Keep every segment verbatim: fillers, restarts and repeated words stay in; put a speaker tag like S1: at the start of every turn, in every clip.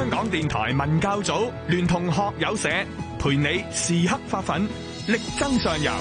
S1: 香港電台文教組聯同學友社陪你時刻發奮，力爭上游。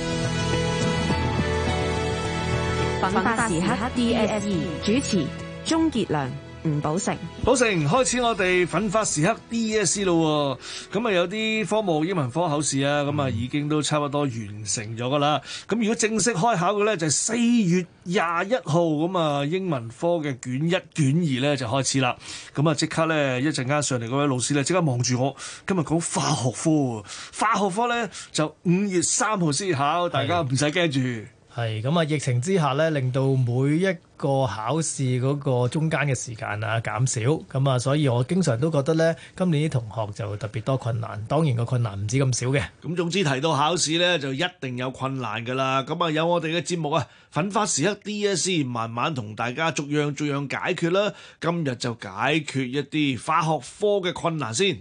S2: 奮發時刻 D S E 主持鍾傑良、吳寶成。
S3: 寶成，開始我哋奮發時刻 D S E 咯，咁啊有啲科目英文科考試啊，咁啊已經都差不多完成咗噶啦。咁如果正式開考嘅咧，就係四月廿一號，咁啊英文科嘅卷一、卷二咧就開始啦。咁啊即刻咧一陣間上嚟嗰位老師咧，即刻望住我，今日講化學科，化學科咧就五月三號先考，大家唔使驚住。
S4: 係咁啊！疫情之下咧，令到每一個考試嗰個中間嘅時間啊減少，咁啊，所以我經常都覺得咧，今年啲同學就特別多困難。當然個困難唔止咁少嘅。
S3: 咁總之提到考試咧，就一定有困難㗎啦。咁啊，有我哋嘅節目啊，奮發時刻 D S E 慢慢同大家逐樣逐樣解決啦。今日就解決一啲化學科嘅困難先。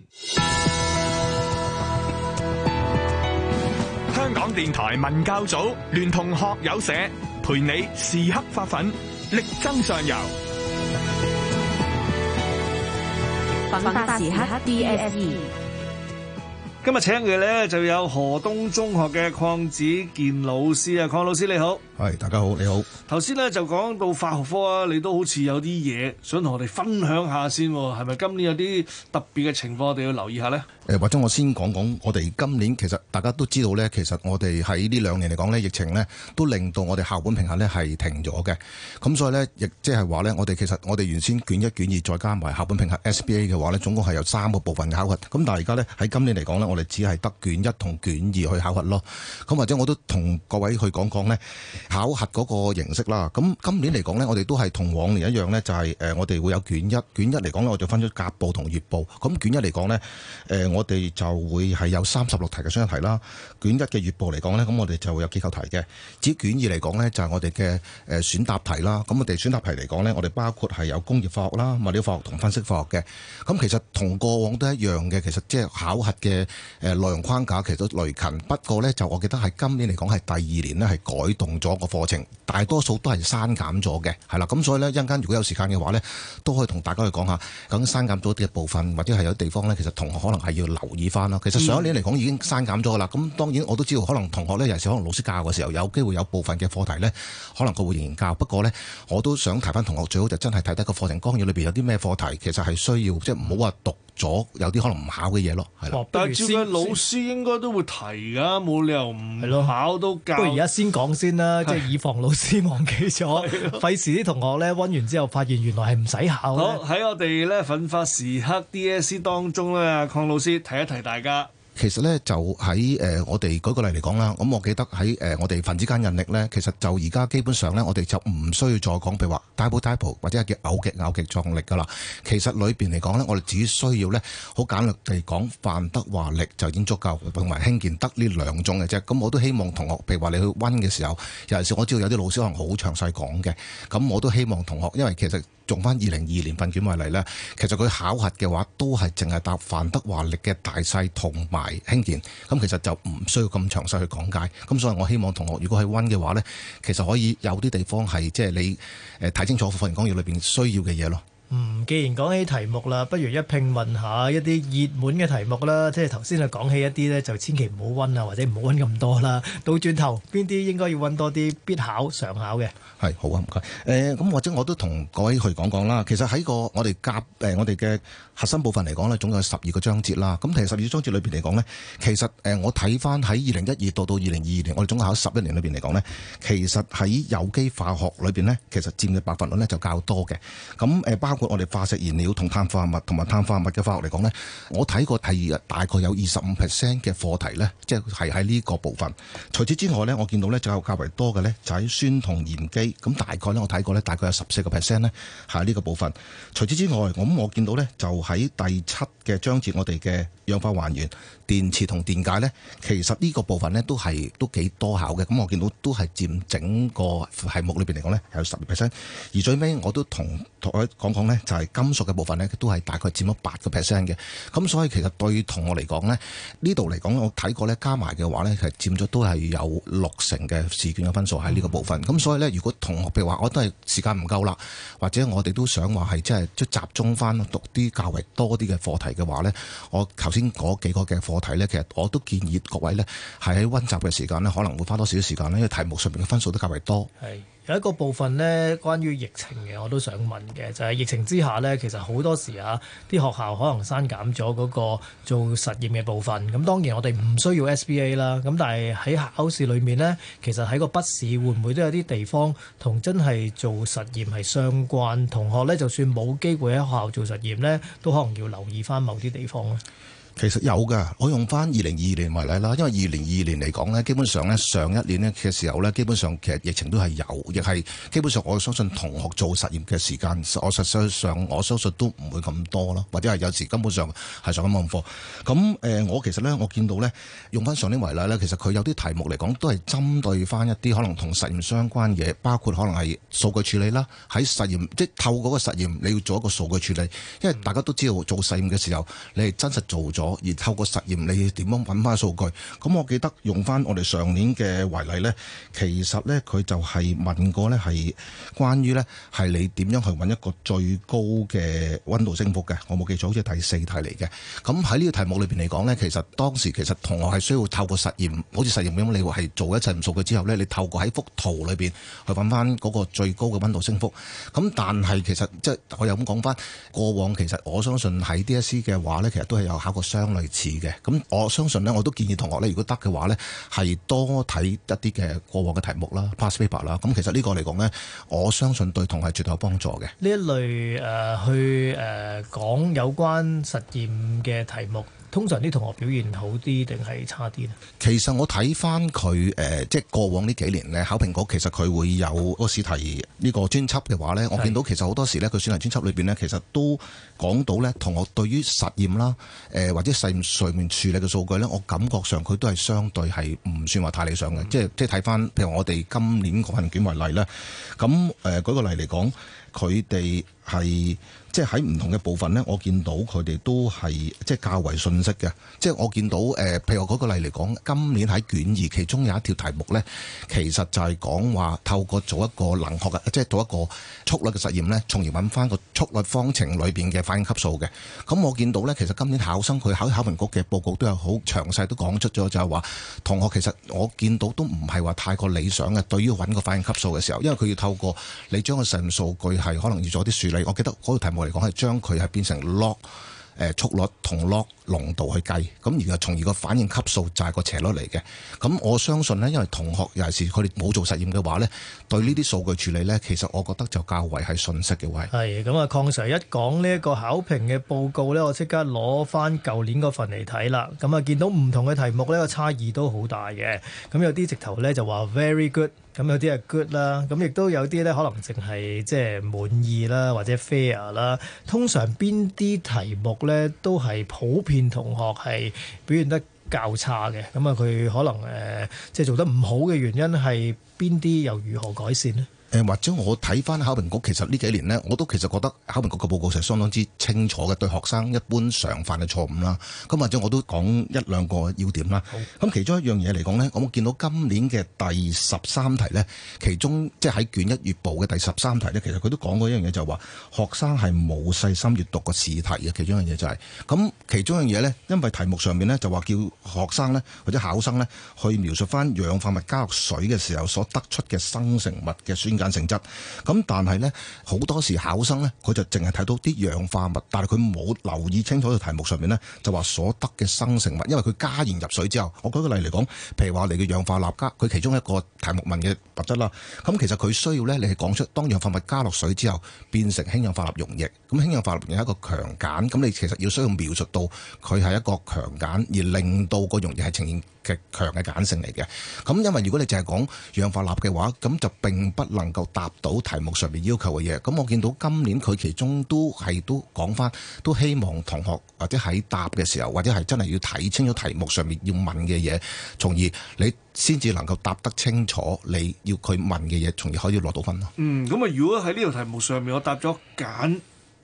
S1: 香港電台文教組聯同學友社陪你時刻發奮，力爭上游。
S2: 奮發時刻 D S E。
S3: 今日請嘅咧就有何東中學嘅鄺子健老師啊，鄺老師你好。
S5: 係，大家好，你好。
S3: 頭先咧就講到化學科啊，你都好似有啲嘢想同我哋分享下先，係咪今年有啲特別嘅情況我哋要留意下呢？
S5: 誒，或者我先講講我哋今年，其實大家都知道咧，其實我哋喺呢兩年嚟講咧，疫情咧都令到我哋校本評核咧係停咗嘅。咁所以咧，亦即係話咧，我哋其實我哋原先卷一、卷二再加埋校本評核 S B A 嘅話咧，總共係有三個部分考核。咁但係而家咧喺今年嚟講咧，我哋只係得卷一同卷二去考核咯。咁或者我都同各位去講講咧考核嗰個形式啦。咁今年嚟講咧，我哋都係同往年一樣咧，就係誒我哋會有卷一，卷一嚟講咧，我就分咗甲部同乙部。咁卷一嚟講咧，誒我哋就會係有三十六題嘅選擇題啦。卷一嘅乙部嚟講咧，咁我哋就會有結構題嘅。至於卷二嚟講咧，就係我哋嘅誒選答題啦。咁我哋選答題嚟講咧，我哋包括係有工業化學啦、物料化學同分析化學嘅。咁其實同過往都一樣嘅，其實即係考核嘅誒內容框架其實都類近。不過咧，就我記得係今年嚟講係第二年咧係改動咗個課程，大多數都係刪減咗嘅，係啦。咁所以咧，一陣間如果有時間嘅話咧，都可以同大家去講下，究竟刪減咗啲嘅部分，或者係有啲地方咧，其實同學可能係要留意翻啦。其實上一年嚟講已經刪減咗噶啦。咁、嗯、當然我都知道，可能同學咧有時可能老師教嘅時候，有機會有部分嘅課題咧，可能佢會仍然教。不過咧，我都想提翻同學，最好就真係睇睇個課程綱要裏邊有啲咩課題，其實係需要即係唔好話讀咗有啲可能唔考嘅嘢咯，係啦。
S3: 但係照計老師應該都會提㗎，冇理由唔考都教。
S4: 不如而家先講先啦，即係以防老師忘記咗，費事啲同學咧溫完之後發現原來係唔使考。
S3: 好，喺我哋咧奮發時刻 D S E 當中咧，鄺老師提一提大家。
S5: 其實咧就喺誒、呃、我哋舉個例嚟講啦，咁我記得喺誒、呃、我哋分子間引力咧，其實就而家基本上咧，我哋就唔需要再講，譬如話 dipole dipole 或者係叫偶極偶極撞力噶啦。其實裏邊嚟講咧，我哋只需要咧好簡略地講范德華力就已經足夠，同埋輕健得呢兩種嘅啫。咁我都希望同學，譬如話你去溫嘅時候，有陣時我知道有啲老師可能好詳細講嘅，咁我都希望同學，因為其實用翻二零二二年份卷為例咧，其實佢考核嘅話都係淨係答范德華力嘅大細同埋輕健，咁其實就唔需要咁詳細去講解。咁所以我希望同學如果係溫嘅話咧，其實可以有啲地方係即係你誒睇清楚課程綱要裏邊需要嘅嘢咯。
S4: 嗯，既然講起題目啦，不如一併問下一啲熱門嘅題目啦。即係頭先啊講起一啲咧，就千祈唔好溫啊，或者唔好溫咁多啦。到轉頭邊啲應該要溫多啲，必考常考嘅？係
S5: 好啊，唔該。誒咁、呃、或者我都同各位去講講啦。其實喺個我哋夾誒我哋嘅核心部分嚟講咧，總共有十二個章節啦。咁其實十二個章節裏邊嚟講咧，其實誒我睇翻喺二零一二到到二零二二年，我哋總共考十一年裏邊嚟講咧，其實喺有機化學裏邊咧，其實佔嘅百分率咧就較多嘅。咁誒包括我哋化石燃料同碳化物同埋碳化物嘅化學嚟講咧，我睇過係大概有二十五 percent 嘅課題咧，即係喺呢個部分。除此之外咧，我見到咧就較為多嘅咧就喺酸同鹽基，咁大概咧我睇過咧大概有十四個 percent 咧係呢個部分。除此之外，咁我見到咧就喺第七嘅章節，我哋嘅氧化還原、電池同電解咧，其實呢個部分咧都係都幾多考嘅。咁我見到都係佔整個題目裏邊嚟講咧係有十二 percent。而最尾我都同同我講講咧。 呢，就係、是、金屬嘅部分呢，都係大概佔咗八個 percent 嘅。咁所以其實對同學嚟講呢，呢度嚟講我睇過呢，加埋嘅話呢，其實佔咗都係有六成嘅試卷嘅分數喺呢個部分。咁、嗯、所以呢，如果同學譬如話我都係時間唔夠啦，或者我哋都想話係即係即集中翻讀啲較為多啲嘅課題嘅話呢，我頭先嗰幾個嘅課題呢，其實我都建議各位呢，係喺溫習嘅時間呢，可能會花多少少時間呢，因為題目上面嘅分數都較為多。
S4: 係有一個部分呢，關於疫情嘅，我都想問嘅，就係、是、疫情之下呢，其實好多時啊，啲學校可能刪減咗嗰個做實驗嘅部分。咁當然我哋唔需要 S B A 啦。咁但係喺考試裏面呢，其實喺個筆試會唔會都有啲地方同真係做實驗係相關？同學呢，就算冇機會喺學校做實驗呢，都可能要留意翻某啲地方咧。
S5: 其實有㗎，我用翻二零二二年為例啦，因為二零二二年嚟講呢，基本上呢，上一年呢嘅時候呢，基本上其實疫情都係有，亦係基本上我相信同學做實驗嘅時間，我實際上我相信都唔會咁多咯，或者係有時根本上係上緊網課。咁誒、呃，我其實呢，我見到呢，用翻上年為例呢，其實佢有啲題目嚟講都係針對翻一啲可能同實驗相關嘅，包括可能係數據處理啦，喺實驗即係透過個實驗你要做一個數據處理，因為大家都知道做實驗嘅時候你係真實做咗。而透過實驗，你點樣揾翻數據？咁我記得用翻我哋上年嘅為例呢，其實呢，佢就係問過呢係關於呢係你點樣去揾一個最高嘅溫度升幅嘅。我冇記錯，好似第四題嚟嘅。咁喺呢個題目裏邊嚟講呢，其實當時其實同學係需要透過實驗，好似實驗咁，你話係做一陣數據之後呢，你透過喺幅圖裏邊去揾翻嗰個最高嘅溫度升幅。咁但係其實即係我又咁講翻，過往其實我相信喺 D S E 嘅話呢，其實都係有考過相類似嘅。咁我相信呢，我都建議同學呢，如果得嘅話呢，係多睇一啲嘅過往嘅題目啦 past paper 啦。咁其實呢個嚟講呢，我相信對同學絕對有幫助嘅。
S4: 呢一類誒、呃、去誒、呃、講有關實驗嘅題目，通常啲同學表現好啲定係差啲咧？
S5: 其實我睇翻佢誒，即係過往呢幾年呢，考評局其實佢會有個試題呢個專輯嘅話呢，我見到其實好多時呢，佢選題專輯裏邊呢，其實都講到呢，同學對於實驗啦，誒、呃、或者實驗上面處理嘅數據呢，我感覺上佢都係相對係唔算話太理想嘅、嗯。即係即係睇翻，譬如我哋今年個份卷為例啦，咁誒、呃、舉個例嚟講，佢哋係。即係喺唔同嘅部分呢，我見到佢哋都係即係較為遜色嘅。即係我見到誒、呃，譬如我舉個例嚟講，今年喺卷二其中有一條題目呢，其實就係講話透過做一個能學嘅，即係做一個速率嘅實驗呢，從而揾翻個速率方程裏邊嘅反應級數嘅。咁我見到呢，其實今年考生佢考考評局嘅報告都有好詳細都講出咗，就係話同學其實我見到都唔係話太過理想嘅，對於揾個反應級數嘅時候，因為佢要透過你將個實驗數據係可能要做啲處理。我記得嗰個題目嚟講係將佢係變成 log 誒速率同 log 濃度去計，咁而家從而個反應級數就係個斜率嚟嘅。咁我相信呢，因為同學尤其是佢哋冇做實驗嘅話呢，對呢啲數據處理呢，其實我覺得就較為係遜色嘅位。係
S4: 咁啊，鄺 Sir 一講呢一個考評嘅報告呢，我即刻攞翻舊年嗰份嚟睇啦。咁啊，見到唔同嘅題目呢，個差異都好大嘅。咁有啲直頭呢就話 very good。咁有啲係 good 啦，咁亦都有啲咧可能淨係即係滿意啦，或者 fair 啦。通常邊啲題目咧都係普遍同學係表現得較差嘅，咁啊佢可能誒即係做得唔好嘅原因係邊啲，又如何改善呢？
S5: 誒或者我睇翻考評局，其實呢幾年呢，我都其實覺得考評局嘅報告係相當之清楚嘅，對學生一般常犯嘅錯誤啦。咁或者我都講一兩個要點啦。咁其中一樣嘢嚟講呢，我見到今年嘅第十三題呢，其中即係喺卷一月部嘅第十三題呢，其實佢都講過一樣嘢，就係話學生係冇細心閱讀個試題嘅。其中一樣嘢就係、是、咁，其中一樣嘢呢，因為題目上面呢，就話叫學生呢，或者考生呢，去描述翻氧化物加落水嘅時候所得出嘅生成物嘅酸鹼性質，咁但係呢，好多時考生呢，佢就淨係睇到啲氧化物，但係佢冇留意清楚個題目上面呢，就話所得嘅生成物，因為佢加完入水之後，我舉個例嚟講，譬如話你嘅氧化鈉加，佢其中一個題目問嘅物質啦，咁其實佢需要呢，你係講出當氧化物加落水之後變成氫氧化鈉溶液，咁氫氧化鈉溶液係一個強鹼，咁你其實要需要描述到佢係一個強鹼，而令到個溶液係呈現嘅強嘅鹼性嚟嘅。咁因為如果你淨係講氧化鈉嘅話，咁就並不能夠答到題目上面要求嘅嘢。咁我見到今年佢其中都係都講翻，都希望同學或者喺答嘅時候，或者係真係要睇清楚題目上面要問嘅嘢，從而你先至能夠答得清楚你要佢問嘅嘢，從而可以攞到分咯。
S3: 嗯，咁啊，如果喺呢條題目上面我答咗鹼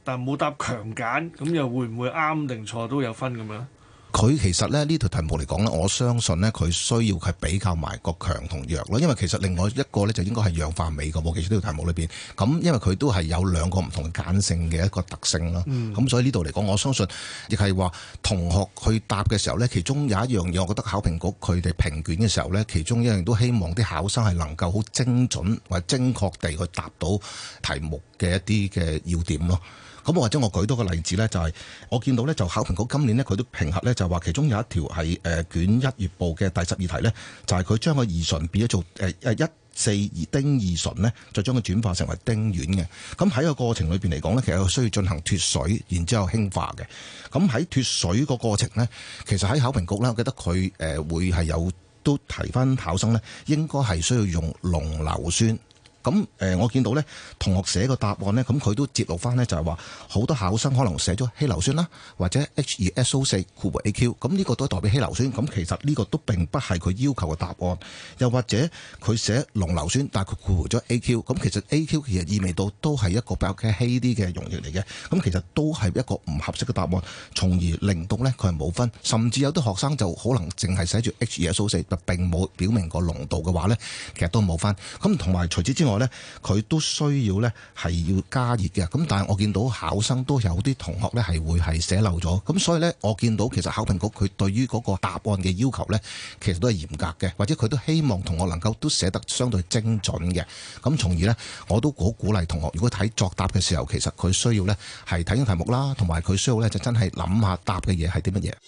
S3: 但冇答強揀，咁又會唔會啱定錯都有分咁樣？
S5: 佢其實咧呢條題目嚟講呢，我相信呢，佢需要係比較埋個強同弱咯，因為其實另外一個呢，就應該係氧化鎂嘅喎，其實呢條題目裏邊，咁因為佢都係有兩個唔同嘅鹼性嘅一個特性咯，咁、嗯、所以呢度嚟講，我相信亦係話同學去答嘅時候呢，其中有一樣嘢，我覺得考評局佢哋評卷嘅時候呢，其中一樣都希望啲考生係能夠好精準或者精確地去答到題目嘅一啲嘅要點咯。咁或者我舉多個例子呢，就係、是、我見到呢，就考評局今年呢，佢都評核呢，就話其中有一條係誒卷一月報嘅第十二題呢，就係佢將個二醇變咗做誒誒一四二丁二醇呢，就將佢轉化成為丁烷嘅。咁喺個過程裏邊嚟講呢，其實佢需要進行脫水，然之後氫化嘅。咁喺脫水個過程呢，其實喺考評局呢，我記得佢誒會係有都提翻考生呢，應該係需要用濃硫酸。咁誒、呃，我見到咧同學寫個答案咧，咁佢都揭露翻咧，就係話好多考生可能寫咗稀硫酸啦，或者 H 二 S O 四 A Q， 咁呢個都代表稀硫酸。咁其實呢個都並不係佢要求嘅答案。又或者佢寫濃硫酸，但係佢括弧咗 A Q， 咁其實 A Q 其實意味到都係一個比較嘅稀啲嘅溶液嚟嘅。咁其實都係一個唔合適嘅答案，從而令到咧佢係冇分。甚至有啲學生就可能淨係寫住 H 二 S O 四，但並冇表明個濃度嘅話咧，其實都冇分。咁同埋除此之外，咧，佢都需要咧係要加熱嘅，咁但係我見到考生都有啲同學咧係會係寫漏咗，咁所以咧我見到其實考評局佢對於嗰個答案嘅要求咧，其實都係嚴格嘅，或者佢都希望同學能夠都寫得相對精準嘅，咁從而咧我都好鼓勵同學，如果睇作答嘅時候，其實佢需要咧係睇緊題目啦，同埋佢需要咧就真係諗下答嘅嘢係啲乜嘢。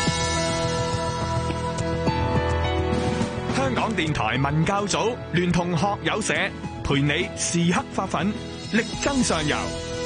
S1: 香港電台文教組聯同學友社，陪你時刻發奮，力爭上游。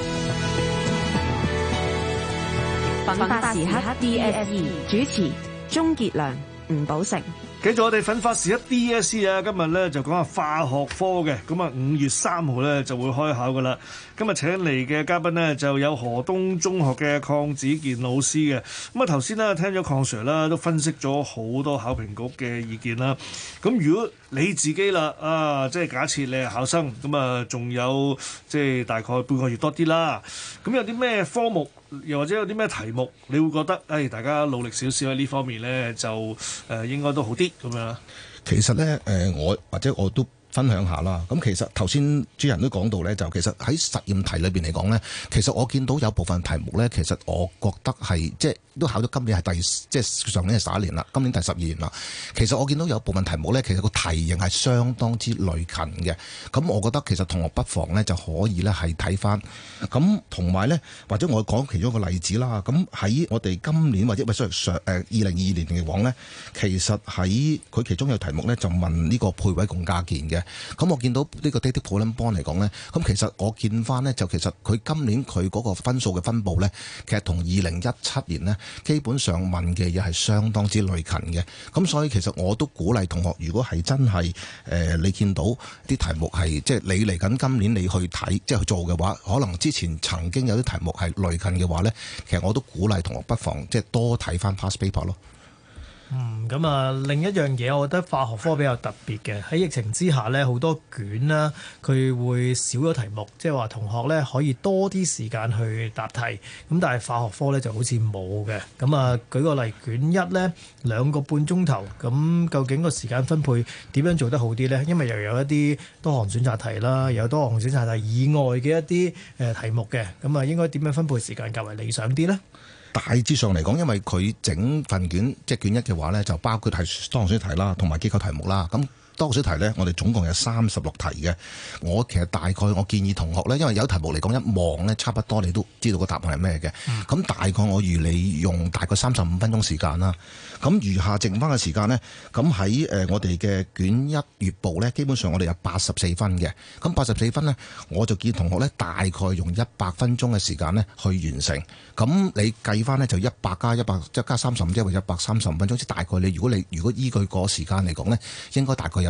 S2: 奮發時刻 D S E 主持鍾傑良、吳寶成。
S3: 繼續我哋奮發時刻 D S E 啊，今日咧就講下化學科嘅，咁啊五月三號咧就會開考噶啦。今日請嚟嘅嘉賓呢，就有何東中學嘅鄺子健老師嘅。咁啊頭先咧聽咗鄺 Sir 啦，都分析咗好多考評局嘅意見啦。咁如果你自己啦啊，即係假設你係考生，咁啊仲有即係大概半個月多啲啦。咁有啲咩科目，又或者有啲咩題目，你會覺得誒、哎、大家努力少少喺呢方面咧，就誒、呃、應該都好啲咁樣。
S5: 其實咧誒、呃，我或者我都分享下啦。咁其實頭先主人都講到咧，就其實喺實驗題裏邊嚟講咧，其實我見到有部分題目咧，其實我覺得係即係都考咗今年係第即係上年係十一年啦，今年第十二年啦。其實我見到有部分題目咧，其實個題型係相當之類近嘅。咁我覺得其實同學不妨咧就可以咧係睇翻。咁同埋咧，或者我講其中一個例子啦。咁喺我哋今年或者唔係上誒二零二二年嚟講咧，其實喺佢其中有題目咧就問呢個配位共價鍵嘅。咁我見到呢個 Dative Covalent Bond嚟講咧，咁其實我見翻咧就其實佢今年佢嗰個分數嘅分佈咧，其實同二零一七年咧基本上問嘅嘢係相當之類近嘅。咁所以其實我都鼓勵同學，如果係真係誒、呃、你見到啲題目係即係你嚟緊今年你去睇即係去做嘅話，可能之前曾經有啲題目係類近嘅話咧，其實我都鼓勵同學不妨即係多睇翻 past paper 咯。
S4: 嗯，咁啊，另一樣嘢，我覺得化學科比較特別嘅，喺疫情之下呢，好多卷啦，佢會少咗題目，即係話同學呢可以多啲時間去答題。咁但係化學科呢就好似冇嘅。咁啊，舉個例，卷一呢兩個半鐘頭，咁究竟個時間分配點樣做得好啲呢？因為又有一啲多項選擇題啦，有多項選擇題以外嘅一啲誒題目嘅，咁啊應該點樣分配時間較為理想啲呢？
S5: 大致上嚟講，因為佢整份卷即係卷一嘅話呢，就包括係多項選題啦，同埋機構題目啦。咁多項選題呢，我哋總共有三十六題嘅。我其實大概我建議同學呢，因為有題目嚟講一望呢，差不多你都知道個答案係咩嘅。咁、嗯、大概我預你用大概三十五分鐘時間啦。咁餘下剩翻嘅時間呢，咁喺誒我哋嘅卷一月報呢，基本上我哋有八十四分嘅。咁八十四分呢，我就建議同學呢，大概用一百分鐘嘅時間呢去完成。咁你計翻呢，就一百加一百，即係加三十五，即係一百三十五分鐘。即係大概你如果你如果依據個時間嚟講呢，應該大概有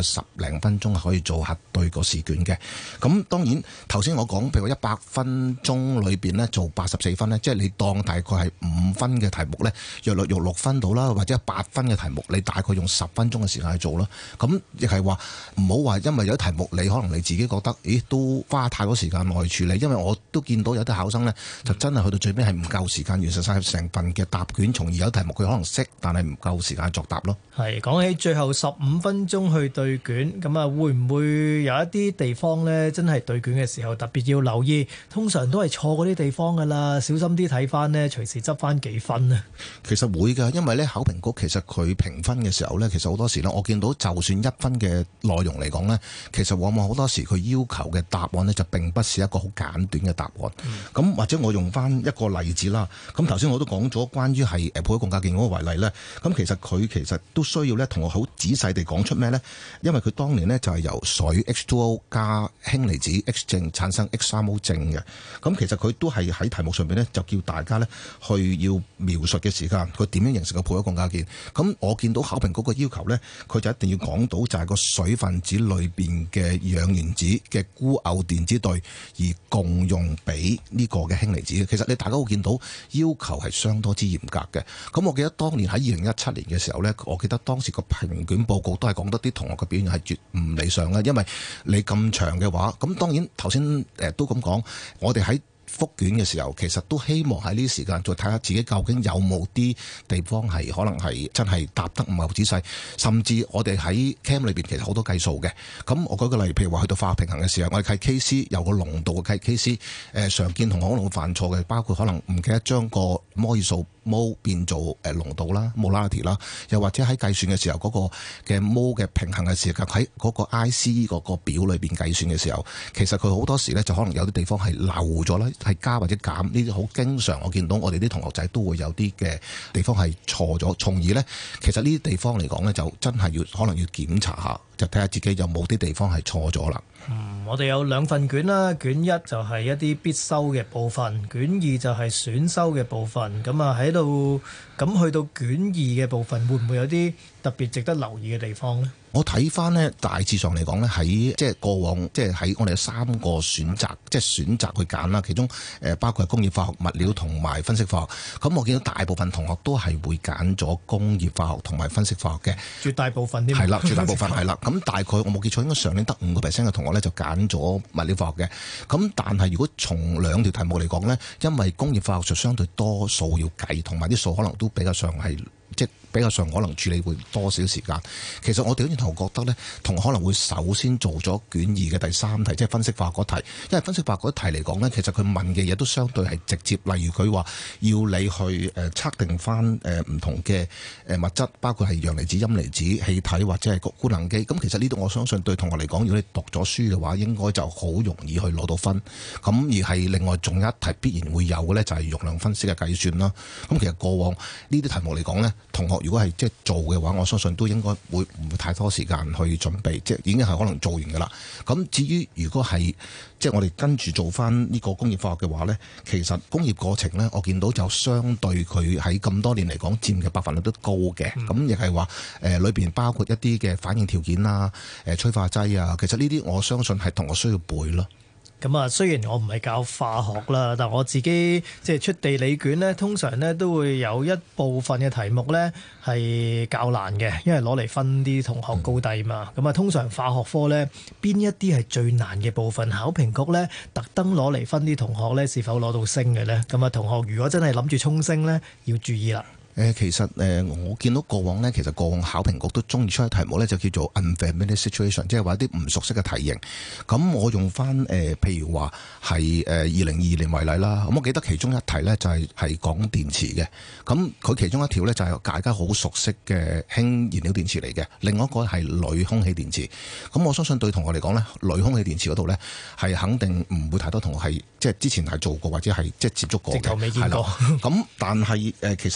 S5: 十零分鐘可以做核對個試卷嘅。咁當然頭先我講，譬如話一百分鐘裏邊咧做八十四分咧，即係你當大概係五分嘅題目咧，約略用六分到啦，或者八分嘅題目，你大概用十分鐘嘅時間去做啦。咁亦係話唔好話，因為有啲題目你可能你自己覺得，咦都花太多時間內處理，因為我都見到有啲考生咧就真係去到最尾係唔夠時間完成晒成份嘅答卷，從而有題目佢可能識，但係唔夠時間作答咯。
S4: 係講起最後十五分鐘去對卷，咁啊會唔會有一啲地方呢？真係對卷嘅時候特別要留意？通常都係錯嗰啲地方㗎啦，小心啲睇翻呢，隨時執翻幾分啊！
S5: 其實會㗎，因為咧考評局其實佢評分嘅時候咧，其實好多時咧，我見到就算一分嘅內容嚟講咧，其實往往好多時佢要求嘅答案咧就並不是一個好簡短嘅答案。咁、嗯、或者我用翻一個例子啦，咁頭先我都講咗關於係誒普通共價鍵嗰個為例咧，咁其實佢其實都需要咧同我好仔細地講出咩咧？因為佢當年咧就係由水 H 二 O 加氫離子 H 正產生 H 三 O 正嘅。咁其實佢都係喺題目上邊咧就叫大家咧去要描述嘅時間，佢點樣形成個普通共價鍵。咁我見到考評局嘅要求咧，佢就一定要講到就係個水分子裏邊嘅氧原子嘅鈷鉤電子對而共用俾呢個嘅氫離子。其實你大家會見到要求係相當之嚴格嘅。咁我記得當年喺二零一七年嘅時候咧，我記得當時個評卷報告都係講得啲同學嘅表現係絕唔理想嘅，因為你咁長嘅話，咁當然頭先誒都咁講，我哋喺複卷嘅時候，其實都希望喺呢啲時間再睇下自己究竟有冇啲地方係可能係真係答得唔係好仔細，甚至我哋喺 cam 裏邊其實好多計數嘅。咁我舉個例，譬如話去到化學平衡嘅時候，我哋計 K C 有個濃度嘅計 K C，誒常見同學可能會犯錯嘅，包括可能唔記得將個摩爾數 mol 變做誒濃度啦 molarity 啦，又或者喺計算嘅時候嗰個嘅 mol 嘅平衡嘅時候，喺嗰個 I C E 嗰個表裏邊計算嘅時候，其實佢好多時咧就可能有啲地方係漏咗啦。係加或者減呢啲好經常，我見到我哋啲同學仔都會有啲嘅地方係錯咗，從而呢，其實呢啲地方嚟講呢，就真係要可能要檢查下，就睇下自己有冇啲地方係錯咗啦。
S4: 嗯，我哋有兩份卷啦，卷一就係一啲必修嘅部分，卷二就係選修嘅部分。咁啊喺度，咁去到卷二嘅部分，會唔會有啲特別值得留意嘅地方呢？
S5: 我睇翻呢，大致上嚟講呢，喺即係過往，即係喺我哋有三個選擇，即係選擇去揀啦。其中誒包括係工業化學、物料同埋分析化學。咁我見到大部分同學都係會揀咗工業化學同埋分析化學嘅，
S4: 絕大部分添。係
S5: 啦，絕大部分係啦。咁大概我冇記錯，應該上年得五個 percent 嘅同學咧就揀咗物料化學嘅。咁但係如果從兩條題目嚟講呢，因為工業化學就相對多數要計，同埋啲數可能都比較上係即係比較上可能處理會多少時間。其實我哋好似同學覺得呢，同學可能會首先做咗卷二嘅第三題，即係分析化學嗰題。因為分析化學嗰題嚟講呢，其實佢問嘅嘢都相對係直接，例如佢話要你去誒測定翻誒唔同嘅誒物質，包括係陽離子、陰離子、氣體或者係官能基。咁其實呢度我相信對同學嚟講，如果你讀咗書嘅話，應該就好容易去攞到分。咁而係另外仲有一題必然會有嘅呢，就係容量分析嘅計算啦。咁其實過往呢啲題目嚟講呢，同學如果係即係做嘅話，我相信都應該會唔會太多時間去準備，即係已經係可能做完㗎啦。咁至於如果係即係我哋跟住做翻呢個工業化學嘅話呢，其實工業過程呢，我見到就相對佢喺咁多年嚟講佔嘅百分率都高嘅。咁亦係話誒裏邊包括一啲嘅反應條件啊、誒催化劑啊，其實呢啲我相信係同學需要背咯。
S4: 咁啊，雖然我唔係教化學啦，但我自己即係出地理卷呢，通常呢都會有一部分嘅題目呢係較難嘅，因為攞嚟分啲同學高低嘛。咁啊、嗯，通常化學科呢邊一啲係最難嘅部分，考評局呢特登攞嚟分啲同學呢是否攞到升嘅呢？咁啊，同學如果真係諗住衝升呢，要注意啦。
S5: 誒其實誒我見到過往呢，其實過往考評局都中意出嘅題目呢，就叫做 unfamiliar situation，即係話啲唔熟悉嘅題型。咁我用翻誒、呃，譬如話係誒二零二二年為例啦。咁我記得其中一題呢，就係係講電池嘅。咁佢其中一條呢，就係大家好熟悉嘅氫燃料電池嚟嘅。另外一個係鋁空氣電池。咁我相信對同學嚟講呢，鋁空氣電池嗰度呢，係肯定唔會太多同學係即係之前係做過或者係即係接觸過嘅。
S4: 直頭未見過。
S5: 咁但係誒、呃、其實我見到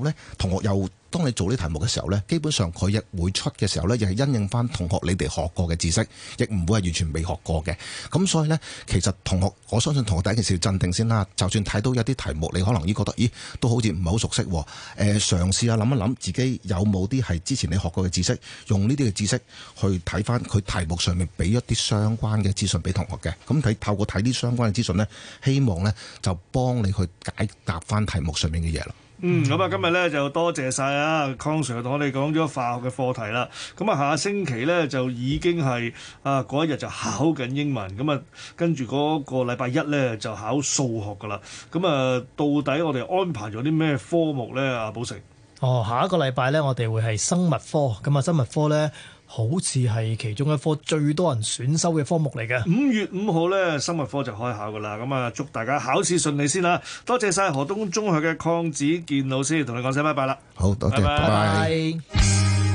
S5: 咧，同學又當你做呢題目嘅時候咧，基本上佢亦會出嘅時候咧，亦係因應翻同學你哋學過嘅知識，亦唔會係完全未學過嘅。咁所以咧，其實同學我相信同學第一件事要鎮定先啦。就算睇到有啲題目，你可能已覺得咦都好似唔係好熟悉喎。誒、呃，嘗試下諗一諗自己有冇啲係之前你學過嘅知識，用呢啲嘅知識去睇翻佢題目上面俾一啲相關嘅資訊俾同學嘅。咁睇透過睇啲相關嘅資訊咧，希望咧就幫你去解答翻題目上面嘅嘢啦。
S3: 嗯，咁啊，今日咧就多謝晒啊康 Sir 同我哋講咗化學嘅課題啦。咁啊，下星期咧就已經係啊嗰一日就考緊英文，咁啊跟住嗰個禮拜一咧就考數學噶啦。咁啊，到底我哋安排咗啲咩科目咧？啊，寶成。
S4: 哦，下一個禮拜咧，我哋會係生物科。咁啊，生物科咧，好似係其中一科最多人選修嘅科目嚟嘅。
S3: 五月五號咧，生物科就開考噶啦。咁啊，祝大家考試順利先啦。多謝晒何東中學嘅鄺子健老師，同你講聲拜拜啦。
S5: 好多謝，拜拜。
S4: 拜拜。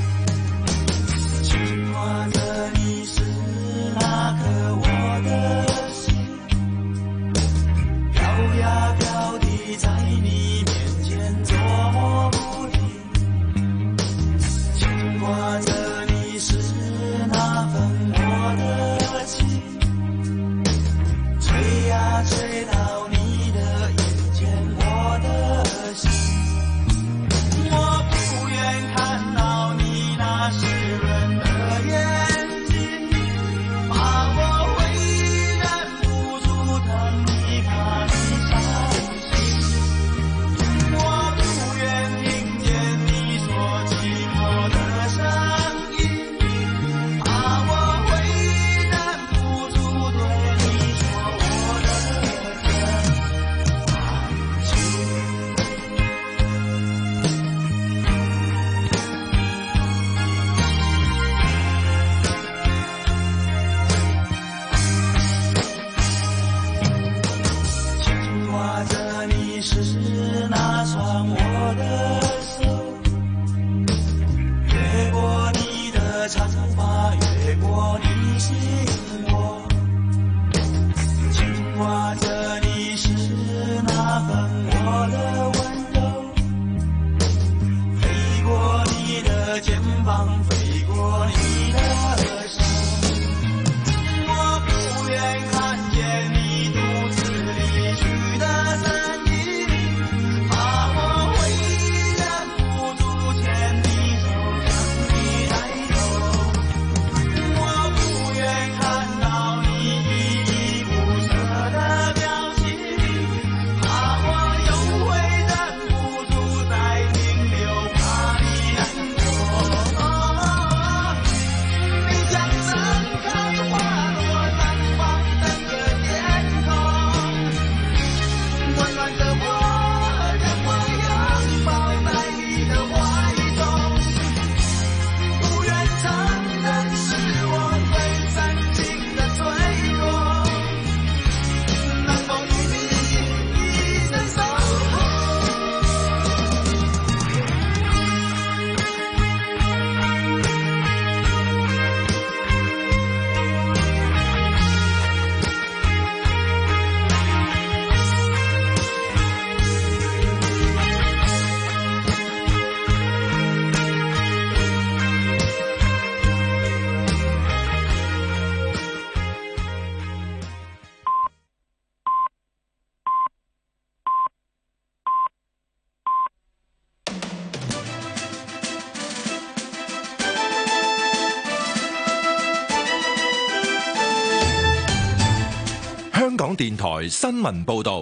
S6: 香港電台新聞報道，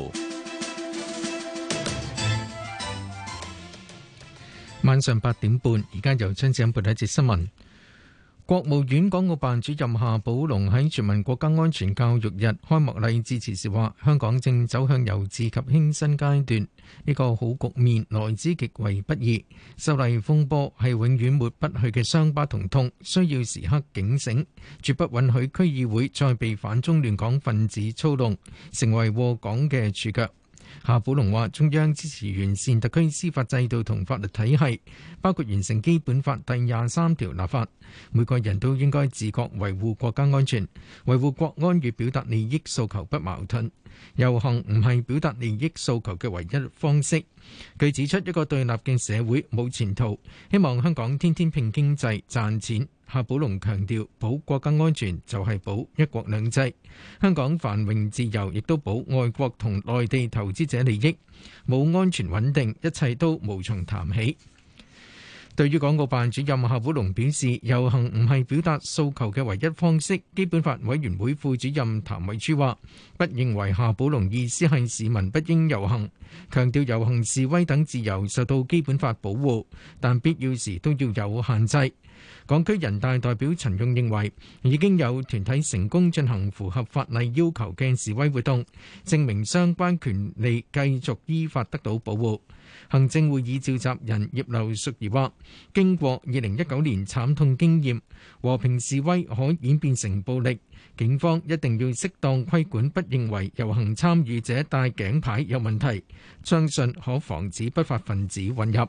S7: 晚上八點半，而家由張子欣報道一節新聞。國務院港澳辦主任夏寶龍喺全民國家安全教育日開幕禮致辭時話：香港正走向由治及興新階段，呢個好局面來之極為不易。修例風波係永遠抹不去嘅傷疤同痛，需要時刻警醒，絕不允許區議會再被反中亂港分子操弄，成為禍港嘅柱腳。 夏寶龍話：中央支持完善特區司法制度同法律體系，包括完成基本法第廿三條立法。每個人都應該自覺維護國家安全，維護國安與表達利益訴求不矛盾。遊行唔係表達利益訴求嘅唯一方式。佢指出，一個對立嘅社會冇前途，希望香港天天拼經濟賺錢。夏寶龍強調，保國家安全就係保一國兩制，香港繁榮自由亦都保外國同內地投資者利益。冇安全穩定，一切都無從談起。對於港澳辦主任夏寶龍表示，遊行唔係表達訴求嘅唯一方式。基本法委員會副主任譚惠珠話，不認為夏寶龍意思係市民不應遊行，強調遊行示威等自由受到基本法保護，但必要時都要有限制。港區人大代表陳勇認為，已經有團體成功進行符合法例要求嘅示威活動，證明相關權利繼續依法得到保護。行政會議召集人葉劉淑儀話，經過二零一九年慘痛經驗，和平示威可演變成暴力，警方一定要適當規管，不認為遊行參與者戴頸牌有問題，相信可防止不法分子混入。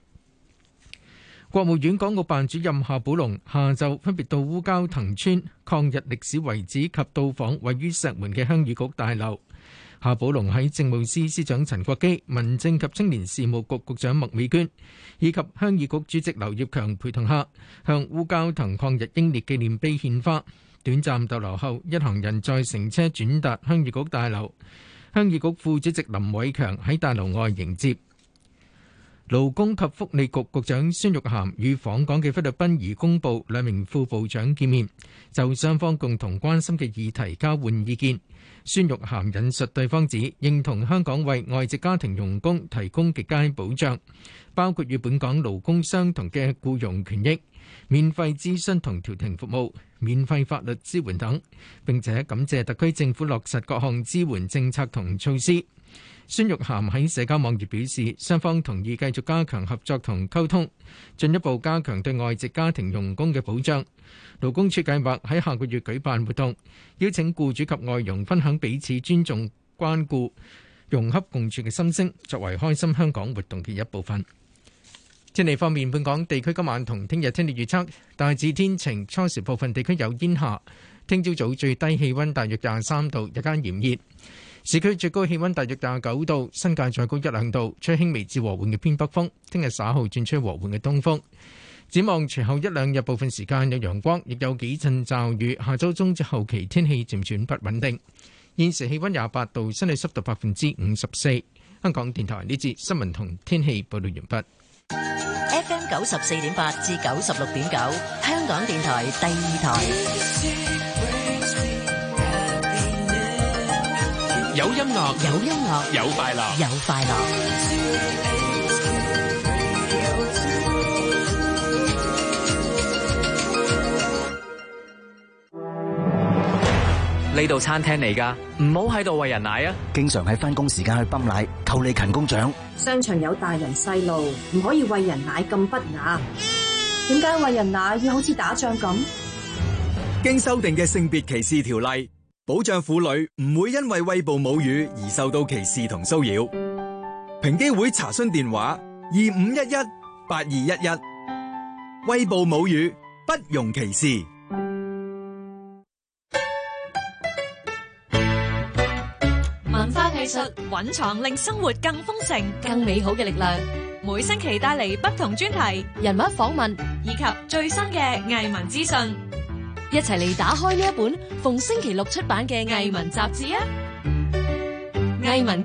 S7: 國務院港澳辦主任夏寶龍下晝分別到烏蛟騰村抗日歷史遺址及到訪位於石門嘅鄉議局大樓。夏寶龍喺政務司司長陳國基、民政及青年事務局局長麥美娟以及鄉議局主席劉業強陪同下，向烏蛟騰抗日英烈紀念碑獻花。短暫逗留後，一行人再乘車轉達鄉議局大樓。鄉議局副主席林偉強喺大樓外迎接。勞工及福利局局長孫玉菡與訪港嘅菲律賓移工部兩名副部長見面，就雙方共同關心嘅議題交換意見。孫玉菡引述對方指，認同香港為外籍家庭傭工提供極佳保障，包括與本港勞工相同嘅僱傭權益、免費諮詢同調停服務、免費法律支援等，並且感謝特區政府落實各項支援政策同措施。孫玉菡喺社交網頁表示，雙方同意繼續加強合作同溝通，進一步加強對外籍家庭傭工嘅保障。勞工處計劃喺下個月舉辦活動，邀請僱主及外傭分享彼此尊重、關顧、融洽共處嘅心聲，作為開心香港活動嘅一部分。天氣方面，本港地區今晚同聽日天氣預測大致天晴，初時部分地區有煙霞。聽朝早最低氣溫大約廿三度，日間炎熱。市區最高氣溫大約廿九度，新界再高一兩度，吹輕微至和緩嘅偏北風。聽日稍後轉吹和緩嘅東風。展望隨後一兩日部分時間有陽光，亦有幾陣驟雨。下周中至後期天氣漸轉不穩定。現時氣溫廿八度，相對濕度百分之五十四。香港電台呢節新聞同天氣報道完畢。
S8: F M 九十四點八至九十六點九，香港電台第二台。
S1: 有音樂，
S8: 有音樂，
S1: 有快樂，
S8: 有快樂。
S9: 呢度餐廳嚟㗎，唔好喺度餵人奶啊！
S10: 經常喺返工時間去泵奶，扣你勤工獎。
S11: 商場有大人細路，唔可以餵人奶咁不雅。點解餵人奶要好似打仗咁？
S12: 經修訂嘅性別歧視條例，保障婦女唔會因為餵哺母乳而受到歧視同騷擾。平機會查詢電話：二五一一八二一一。餵哺母乳，不容歧視。
S13: 文化藝術蘊藏令生活更豐盛、更美好嘅力量。每星期帶嚟不同專題、人物訪問以及最新嘅藝文資訊，一齊嚟打開呢一本逢星期六出版嘅藝文雜誌啊！藝文